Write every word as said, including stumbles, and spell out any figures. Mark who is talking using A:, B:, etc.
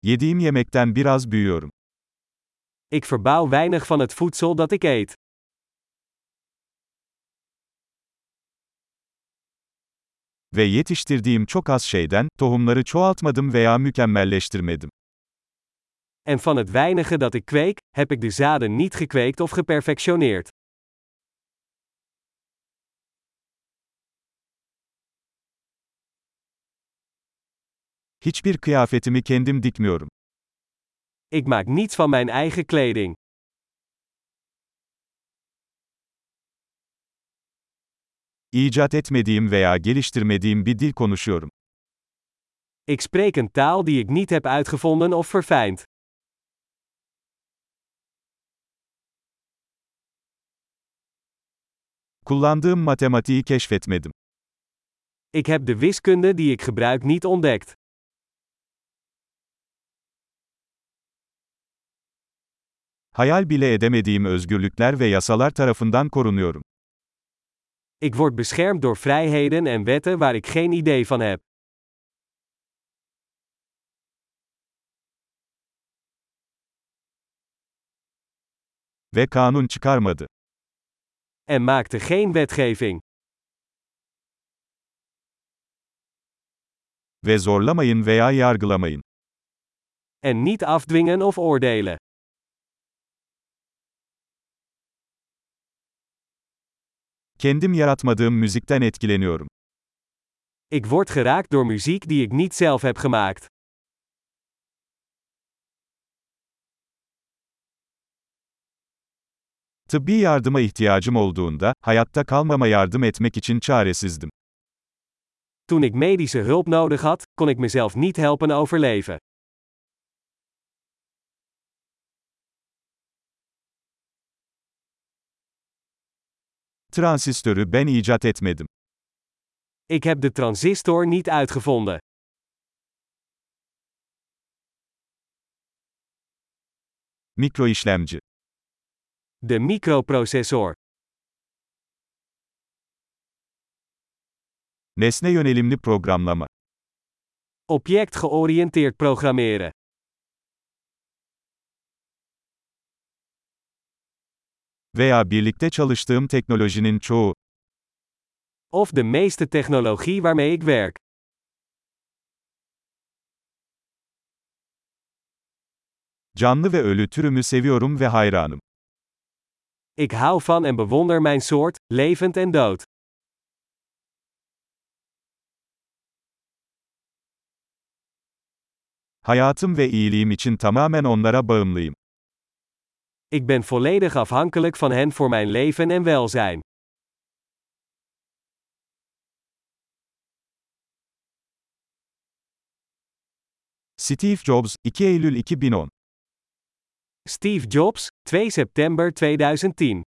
A: Yediğim yemekten biraz büyüyorum.
B: Ik verbouw weinig van het voedsel dat ik eet.
A: Ve yetiştirdiğim çok az şeyden, tohumları çoğaltmadım veya mükemmelleştirmedim.
B: En van het weinige dat ik kweek, heb ik de zaden niet gekweekt of geperfectioneerd.
A: Hiçbir kıyafetimi kendim dikmiyorum.
B: Ik maak niets van mijn eigen kleding.
A: İcat etmediğim veya geliştirmediğim bir dil konuşuyorum.
B: Ik spreek een taal die ik niet heb uitgevonden of verfijnd.
A: Kullandığım matematiği keşfetmedim.
B: Ik heb de wiskunde die ik gebruik niet ontdekt.
A: Hayal bile edemediğim özgürlükler ve yasalar tarafından korunuyorum.
B: Ik word beschermd door vrijheden en wetten waar ik geen idee van heb.
A: Ve kanun çıkarmadı.
B: En maakte geen wetgeving.
A: Ve zorlamayın veya yargılamayın.
B: En niet afdwingen of oordelen.
A: Kendim yaratmadığım müzikten etkileniyorum.
B: Ik word geraakt door muziek die ik niet zelf heb gemaakt.
A: Tıbbi yardıma ihtiyacım olduğunda, hayatta kalmama yardım etmek için çaresizdim.
B: Toen ik medische hulp nodig had, kon ik mezelf niet helpen overleven.
A: Transistörü ben icat etmedim.
B: Ik heb de transistor niet uitgevonden.
A: Mikroişlemci.
B: De microprocessor.
A: Nesne yönelimli programlama.
B: Object-georiënteerd programmeren.
A: Veya birlikte çalıştığım teknolojinin çoğu.
B: Of de meeste technologie waarmee ik werk.
A: Canlı ve ölü türümü seviyorum ve hayranım.
B: Ik hou van en bewonder mijn soort, levend en dood.
A: Hayatım ve iyiliğim için tamamen onlara bağımlıyım.
B: Ik ben volledig afhankelijk van hen voor mijn leven en welzijn.
A: Steve Jobs, iki Eylül iki bin on.
B: Steve Jobs, twee september tweeduizend tien